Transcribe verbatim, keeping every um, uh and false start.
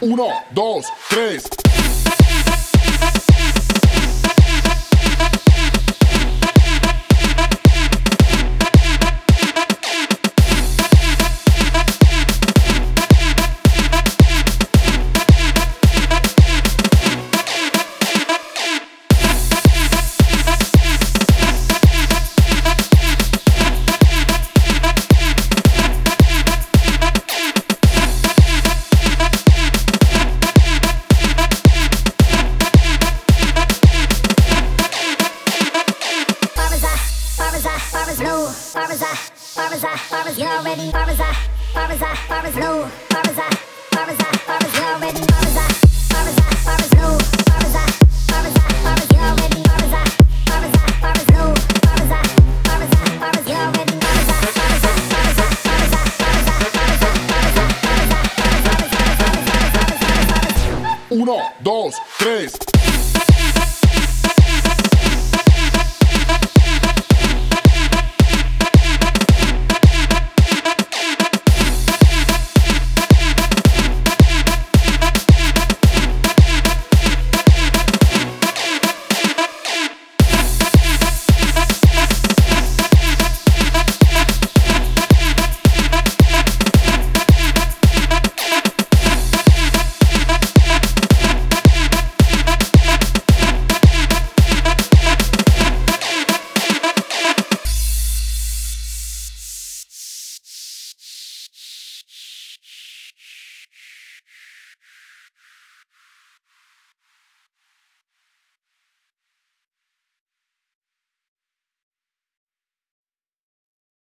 Uno, dos, tres. Barbara's I, Barbara's I, Barbara's you already. Barbara's I, Barbara's I, Barbara's low. Barbara's I, Barbara's I, Barbara's you already. Barbara's I, Barbara's I, Barbara's low. Barbara's I, Barbara's I, Barbara's you already. Barbara's I, Barbara's I, Barbara's low. Barbara's I, Barbara's I, Barbara's you already. Barbara's I, Barbara's I, Barbara's I, Barbara's I, Barbara's I, Barbara's I, Barbara's I, Barbara's I, Barbara's I, Barbara's I, Barbara's I, Barbara's I, Barbara's I. Uno, dos, tres.